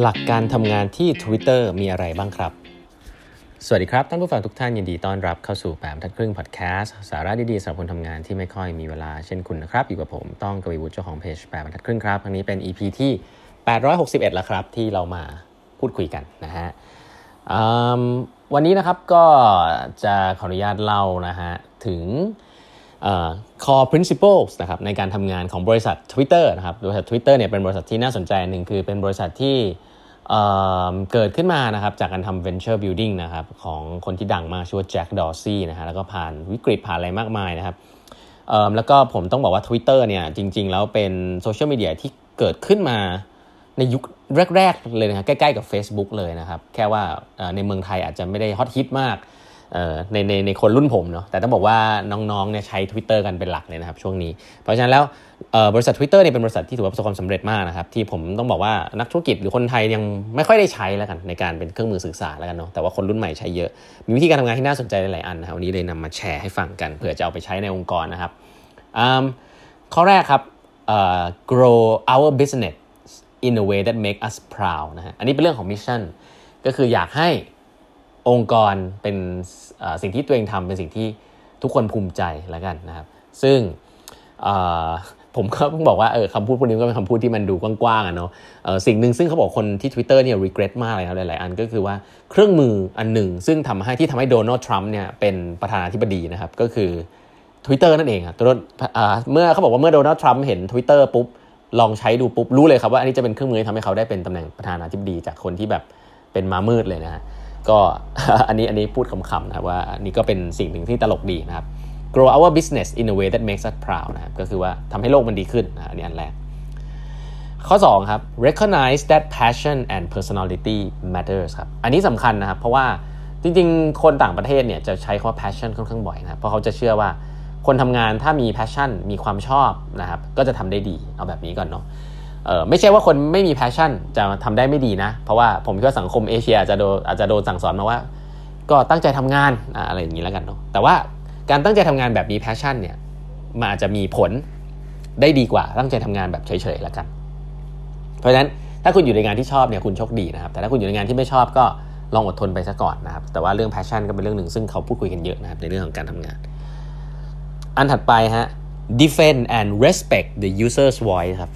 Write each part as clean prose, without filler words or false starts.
หลักการทำงานที่ Twitter มีอะไรบ้างครับสวัสดีครับท่านผู้ฟังทุกท่านยินดีต้อนรับเข้าสู่8 บรรทัดครึ่งพอดแคสต์สาระดีๆสำหรับคนทำงานที่ไม่ค่อยมีเวลาเช่นคุณนะครับอยู่กับผมต้องกวีวุฒิเจ้าของเพจ8 บรรทัดครึ่งครับครั้งนี้เป็น EP ที่861แล้วครับที่เรามาพูดคุยกันนะฮะวันนี้นะครับก็จะขออนุญาตเล่านะฮะถึงcore principles นะครับในการทำงานของบริษัท Twitter นะครับบริษัท Twitter เนี่ยเป็นบริษัทที่น่าสนใจหนึ่งคือเป็นบริษัทที่เกิดขึ้นมานะครับจากการทำ venture building นะครับของคนที่ดังมากชื่อว่าแจ็คดอร์ซี่นะฮะแล้วก็ผ่านวิกฤตผ่านอะไรมากมายนะครับแล้วก็ผมต้องบอกว่า Twitter เนี่ยจริงๆแล้วเป็นโซเชียลมีเดียที่เกิดขึ้นมาในยุคแรกๆเลยนะครับใกล้ๆกับ Facebook เลยนะครับแค่ว่าในเมืองไทยอาจจะไม่ได้ฮอตฮิตมากในคนรุ่นผมเนาะแต่ต้องบอกว่าน้องๆเนี่ยใช้ Twitter กันเป็นหลักเลยนะครับช่วงนี้เพราะฉะนั้นแล้วบริษัท Twitter เนี่ยเป็นบริษัทที่ถือว่าประสบความสำเร็จมากนะครับที่ผมต้องบอกว่านักธุรกิจหรือคนไทยยังไม่ค่อยได้ใช้แล้วกันในการเป็นเครื่องมือสื่อสารแล้วกันเนาะแต่ว่าคนรุ่นใหม่ใช้เยอะมีวิธีการทำงานที่น่าสนใจหลายๆอันนะครับวันนี้เลยนำมาแชร์ให้ฟังกันเผื่อจะเอาไปใช้ในองค์กรนะครับข้อแรกครับgrow our business in a way that make us proud นะฮะอันนี้เป็นเรื่องของมิชชั่นก็คืออยากให้องค์กรเป็นสิ่งที่ตัวเองทำเป็นสิ่งที่ทุกคนภูมิใจแล้วกันนะครับซึ่งผมก็เพิ่งบอกว่าคำพูดพวกนี้ก็เป็นคำพูดที่มันดูกว้างๆเนาะสิ่งหนึ่งซึ่งเขาบอกคนที่ Twitter เนี่ย regret มากเลยครับหลายๆอันก็คือว่าเครื่องมืออันหนึ่งซึ่งทำให้โดนัลด์ทรัมป์เนี่ยเป็นประธานาธิบดีนะครับก็คือ Twitter นั่นเองครับเมื่อเขาบอกว่าเมื่อโดนัลด์ทรัมป์เห็น Twitter ปุ๊บลองใช้ดูปุ๊บรู้เลยครับว่าอันนี้จะเป็นเครื่องมือที่ทำให้เขาได้เป็นตำแหน่งประธานาธิบดีจากคนที่แบบเป็นม้ามืดเลยนะฮะก็อันนี้พูดขำๆนะครับว่านี่ก็เป็นสิ่งหนึ่งที่ตลกดีนะครับ grow our business in a way that makes us proud นะครับก็คือว่าทำให้โลกมันดีขึ้นอันนี้อันแรกข้อ2ครับ recognize that passion and personality matters ครับอันนี้สำคัญนะครับเพราะว่าจริงๆคนต่างประเทศเนี่ยจะใช้คำว่า passion ค่อนข้างบ่อยนะครับเพราะเขาจะเชื่อว่าคนทำงานถ้ามี passion มีความชอบนะครับก็จะทำได้ดีเอาแบบนี้ก่อนเนาะไม่ใช่ว่าคนไม่มี passion จะทำได้ไม่ดีนะเพราะว่าผมคิดว่าสังคมเอเชียอาจจะโดนสั่งสอนมาว่าก็ตั้งใจทำงานอะไรอย่างนี้แล้วกันเนาะแต่ว่าการตั้งใจทำงานแบบมี passion เนี่ยมันอาจจะมีผลได้ดีกว่าตั้งใจทำงานแบบเฉยๆแล้วกันเพราะฉะนั้นถ้าคุณอยู่ในงานที่ชอบเนี่ยคุณโชคดีนะครับแต่ถ้าคุณอยู่ในงานที่ไม่ชอบก็ลองอดทนไปซะก่อนนะครับแต่ว่าเรื่อง passion ก็เป็นเรื่องหนึ่งซึ่งเขาพูดคุยกันเยอะนะครับในเรื่องของการทำงานอันถัดไปฮะ defend and respect the user's voice ครับ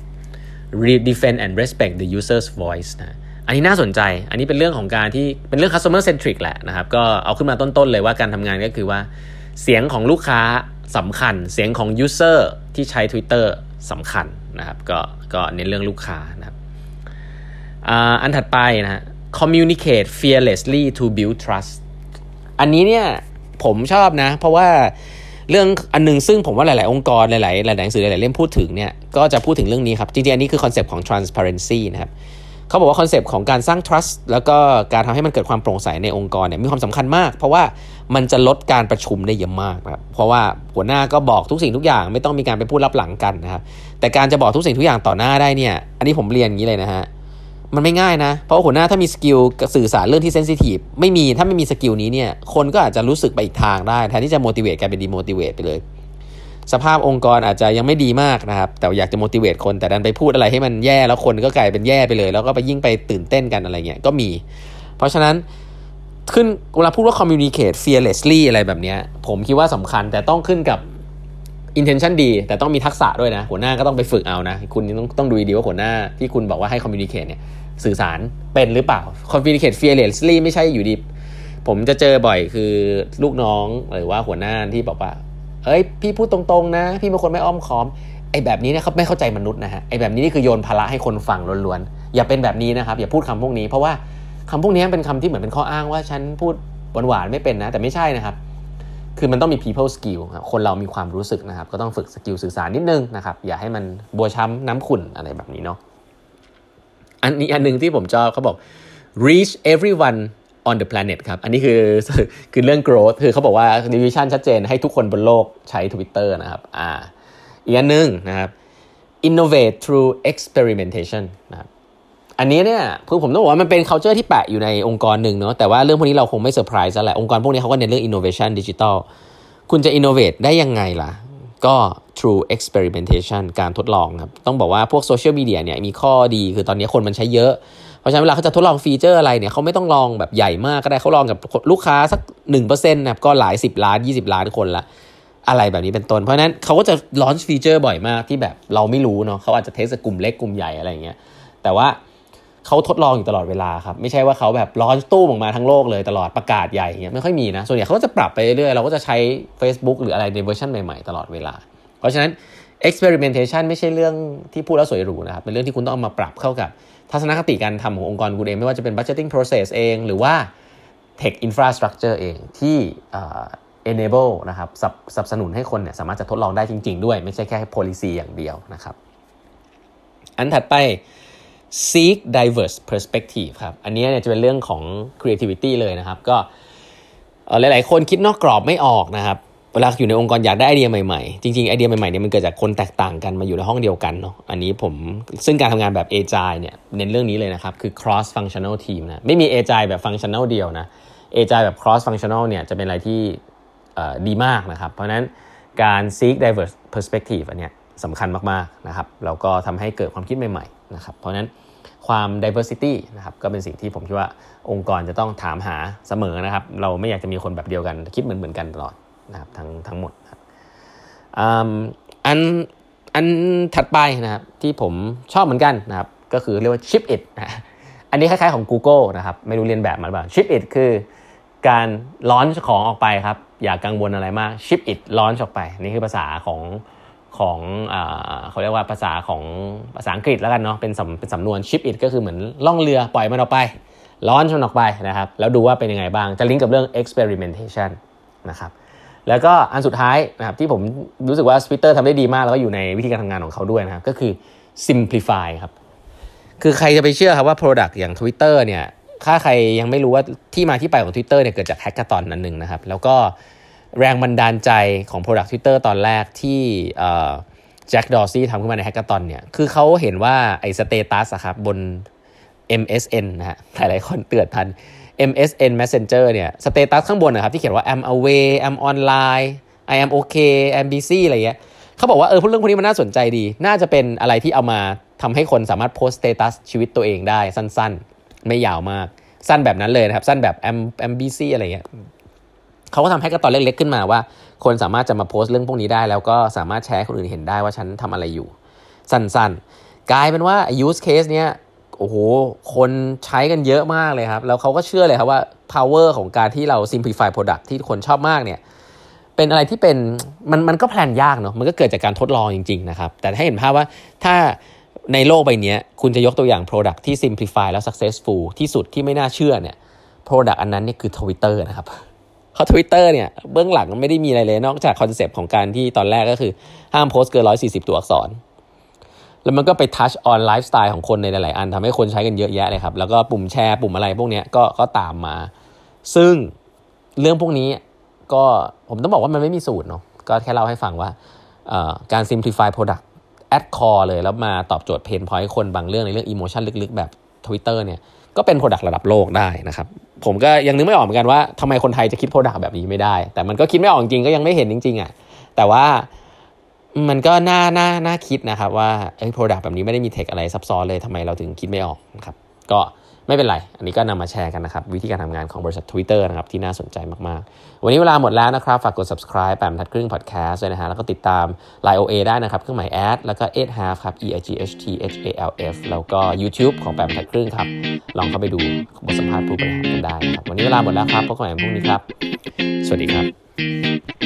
defend and respect the user's voice นะอันนี้น่าสนใจอันนี้เป็นเรื่องของการที่เป็นเรื่อง customer centric แหละนะครับก็เอาขึ้นมาต้นๆเลยว่าการทำงานก็คือว่าเสียงของลูกค้าสำคัญเสียงของ user ที่ใช้ Twitter สำคัญนะครับก็เน้นเรื่องลูกค้านะครับอันถัดไปนะฮะ communicate fearlessly to build trust อันนี้เนี่ยผมชอบนะเพราะว่าเรื่องอันนึงซึ่งผมว่าหลายๆองค์กรหลายๆหนังสือหลายๆเล่มพูดถึงเนี่ยก็จะพูดถึงเรื่องนี้ครับจริงๆอันนี้คือคอนเซปต์ของ transparency นะครับเขาบอกว่าคอนเซปต์ของการสร้าง trust แล้วก็การทำให้มันเกิดความโปร่งใสในองค์กรเนี่ยมีความสำคัญมากเพราะว่ามันจะลดการประชุมได้เยอะมากครับเพราะว่าหัวหน้าก็บอกทุกสิ่งทุกอย่างไม่ต้องมีการไปพูดลับหลังกันนะครับแต่การจะบอกทุกสิ่งทุกอย่างต่อหน้าได้เนี่ยอันนี้ผมเรียนอย่างนี้เลยนะฮะมันไม่ง่ายนะเพราะหัวหน้าถ้ามีสกิลสื่อสารเรื่องที่เซนซิทีฟถ้าไม่มีสกิลนี้เนี่ยคนก็อาจจะรู้สึกไปอีกทางได้แทนที่จะ motivate กลายเป็น demotivate ไปเลยสภาพองค์กรอาจจะยังไม่ดีมากนะครับแต่อยากจะ motivate คนแต่ดันไปพูดอะไรให้มันแย่แล้วคนก็กลายเป็นแย่ไปเลยแล้วก็ไปยิ่งไปตื่นเต้นกันอะไรเงี้ยก็มีเพราะฉะนั้นเวลาพูดว่า communicate fearlessly อะไรแบบเนี้ยผมคิดว่าสำคัญแต่ต้องขึ้นกับ intention ดีแต่ต้องมีทักษะด้วยนะหัวหน้าก็ต้องไปฝึกเอานะคุณต้องดูดีว่าหัวหน้าที่คุณบอกว่าให้ communicate เนี่ยสื่อสารเป็นหรือเปล่า communicate fearlessly ไม่ใช่อยู่ดีผมจะเจอบ่อยคือลูกน้องหรือว่าหัวหน้าที่บอกว่าพี่พูดตรงๆนะพี่เป็นคนไม่อ้อมค้อมไอ้แบบนี้เนี่ยเขาไม่เข้าใจมนุษย์นะฮะไอ้แบบนี้นี่คือโยนภาระให้คนฟังล้วนๆอย่าเป็นแบบนี้นะครับอย่าพูดคำพวกนี้เพราะว่าคำพวกนี้เป็นคำที่เหมือนเป็นข้ออ้างว่าฉันพูดหวานๆไม่เป็นนะแต่ไม่ใช่นะครับคือมันต้องมี people skill ครับคนเรามีความรู้สึกนะครับก็ต้องฝึกสกิลสื่อสารนิดนึงนะครับอย่าให้มันบัวช้ำน้ำขุ่นอะไรแบบนี้เนาะอันนึงที่ผมชอบเขาบอก reach everyone on the planet ครับอันนี้คือเรื่อง growth คือเขาบอกว่า vision ชัดเจนให้ทุกคนบนโลกใช้ Twitter นะครับอีกอันนึงนะครับ innovate through experimentation นะครับอันนี้เนี่ยคือผมต้องบอกว่ามันเป็น culture ที่แปะอยู่ในองค์กรหนึ่งเนาะแต่ว่าเรื่องพวกนี้เราคงไม่เซอร์ไพรส์แล้วแหละองค์กรพวกนี้เขาก็เน้นเรื่อง innovation digital คุณจะ innovate ได้ยังไงล่ะก็ through experimentation การทดลองครับต้องบอกว่าพวกโซเชียลมีเดียเนี่ยมีข้อดีคือตอนนี้คนมันใช้เยอะเพราะฉะนั้นเวลาเขาจะทดลองฟีเจอร์อะไรเนี่ยเขาไม่ต้องลองแบบใหญ่มากก็ได้เขาลองกับลูกค้าสัก 1% นะก็หลาย10ล้าน20ล้านคนละอะไรแบบนี้เป็นต้นเพราะฉะนั้นเขาก็จะลอนช์ฟีเจอร์บ่อยมากที่แบบเราไม่รู้เนาะเขาอาจจะเทสกับกลุ่มเล็กกลุ่มใหญ่อะไรอย่างเงี้ยแต่ว่าเขาทดลองอยู่ตลอดเวลาครับไม่ใช่ว่าเขาแบบลอนช์ตู้ออกมาทั้งโลกเลยตลอดประกาศใหญ่อย่างเงี้ยไม่ค่อยมีนะส่วนใหญ่เขาก็จะปรับไปเรื่อยๆเราก็จะใช้ Facebook หรืออะไรในเวอร์ชันใหม่ๆตลอดเวลาเพราะฉะนั้น experimentation ไม่ใช่เรื่องที่พูดแล้วสวยหรูนะครับเป็นเรื่องที่คุณต้องเอามาปรับเข้ากับทัศนคติการทำขององค์กรคุณเองไม่ว่าจะเป็น budgeting process เองหรือว่า tech infrastructure เองที่enable นะครับสนับสนุนให้คนเนี่ยสามารถจะทดลองได้จริงๆด้วยไม่ใช่แค่ policy อย่างเดียวนะครับอันถัดไป seek diverse perspective ครับอันนี้เนี่ยจะเป็นเรื่องของ creativity เลยนะครับก็หลายๆคนคิดนอกกรอบไม่ออกนะครับเวลาอยู่ในองค์กรอยากได้ไอเดียใหม่ๆจริงๆไอเดียใหม่ๆเนี่ยมันเกิดจากคนแตกต่างกันมาอยู่ในห้องเดียวกันเนาะอันนี้ซึ่งการทำงานแบบ Agile เนี่ยเน้นเรื่องนี้เลยนะครับคือ cross functional team นะไม่มี Agile แบบ functional เดียวนะ Agile แบบ cross functional เนี่ยจะเป็นอะไรที่ดีมากนะครับเพราะฉะนั้นการ seek diverse perspective อันเนี้ยสำคัญมากๆนะครับแล้วก็ทำให้เกิดความคิดใหม่ๆนะครับเพราะฉะนั้นความ diversity นะครับก็เป็นสิ่งที่ผมคิดว่าองค์กรจะต้องถามหาเสมอนะครับเราไม่อยากจะมีคนแบบเดียวกันคิดเหมือนกันตลอดนะครับทั้งหมดครับอันถัดไปนะครับที่ผมชอบเหมือนกันนะครับก็คือเรียกว่า ship it นะอันนี้คล้ายๆของ Google นะครับไม่รู้เรียนแบบมาหรือเปล่า ship it คือการลอนช์ของออกไปครับอย่ากังวลอะไรมาก ship it ลอนช์ออกไปนี่คือภาษาของเขาเรียกว่าภาษาอังกฤษแล้วกันเนาะเป็นสำนวน ship it ก็คือเหมือนล่องเรือปล่อยมันออกไปลอนช์มันออกไปนะครับแล้วดูว่าเป็นยังไงบ้างจะลิงก์กับเรื่อง experimentation นะครับแล้วก็อันสุดท้ายนะครับที่ผมรู้สึกว่า Twitter ทำได้ดีมากแล้วก็อยู่ในวิธีการทำงานของเขาด้วยนะครับก็คือ simplify ครับคือใครจะไปเชื่อครับว่า product อย่าง Twitter เนี่ยถ้าใครยังไม่รู้ว่าที่มาที่ไปของ Twitter เนี่ยเกิดจาก hackathon อันนึงนะครับแล้วก็แรงบันดาลใจของ product Twitter ตอนแรกที่แจ็คดอร์ซี่ทำขึ้นมาใน hackathon เนี่ยคือเขาเห็นว่าไอ้สเตตัสครับบน MSN นะฮะหลายๆคนเตือนทันMSN Messenger เนี่ยสเตตัสข้างบนนะครับที่เขียนว่า I'm away I'm online I am okay I'm busy อะไรเงี้ยเขาบอกว่าเรื่องพวกนี้มันน่าสนใจดีน่าจะเป็นอะไรที่เอามาทำให้คนสามารถโพสต์สเตตัสชีวิตตัวเองได้สั้นๆไม่ยาวมากสั้นแบบนั้นเลยนะครับสั้นแบบ I'm busy อะไรเงี้ยเขาก็ทำให้กระต่อเล็กๆขึ้นมาว่าคนสามารถจะมาโพสต์เรื่องพวกนี้ได้แล้วก็สามารถแชร์ให้คนอื่นเห็นได้ว่าฉันทำอะไรอยู่สั้นๆกลายเป็นว่า use case เนี้ยโอ้โหคนใช้กันเยอะมากเลยครับแล้วเขาก็เชื่อเลยครับว่า power ของการที่เรา simplify product ที่คนชอบมากเนี่ยเป็นอะไรที่เป็นมันก็แพลนยากเนาะมันก็เกิดจากการทดลองจริงๆนะครับแต่ให้เห็นภาพว่าถ้าในโลกใบนี้คุณจะยกตัวอย่าง product ที่ simplify แล้ว successful ที่สุดที่ไม่น่าเชื่อเนี่ย product อันนั้นนี่คือ Twitter นะครับเพราะ Twitter เนี่ยเบื้องหลังไม่ได้มีอะไรเลยนอกจากคอนเซปต์ของการที่ตอนแรกก็คือห้ามโพสต์เกิน140ตัวอักษรแล้วมันก็ไปทัชออนไลฟ์สไตล์ของคนในหลายๆอันทำให้คนใช้กันเยอะแยะเลยครับแล้วก็ปุ่มแชร์ปุ่มอะไรพวกนี้ก็ตามมาซึ่งเรื่องพวกนี้ก็ผมต้องบอกว่ามันไม่มีสูตรเนาะก็แค่เล่าให้ฟังว่าการ simplify product at core เลยแล้วมาตอบโจทย์เพนพอยต์คนบางเรื่องในเรื่อง emotion ลึกๆแบบ Twitter เนี่ยก็เป็น product ระดับโลกได้นะครับผมก็ยังนึกไม่ออกเหมือนกันว่าทำไมคนไทยจะคิด product แบบนี้ไม่ได้แต่มันก็คิดไม่ออกจริงก็ยังไม่เห็นจริงๆอ่ะแต่ว่ามันก็น่าคิดนะครับว่าproduct แบบนี้ไม่ได้มีเทคอะไรซับซ้อนเลยทำไมเราถึงคิดไม่ออกนะครับก็ไม่เป็นไรอันนี้ก็นำมาแชร์กันนะครับวิธีการทำงานของบริษัท Twitter นะครับที่น่าสนใจมากๆวันนี้เวลาหมดแล้วนะครับฝากกด subscribe แปมทัดครึ่ง podcast ด้วยนะฮะแล้วก็ติดตาม Line OA ได้นะครับเครื่องหมาย @ แล้วก็ 8half ครับ EIGHTHALF แล้วก็ YouTube ของแปมทัดครึ่งครับลองเข้าไปดูบทสัมภาษณ์ผู้บริหารกันได้นะครับวันนี้เวลาหมดแล้วครับพบกันใหม่พรุ่งนี้ครับสวัสดีครับ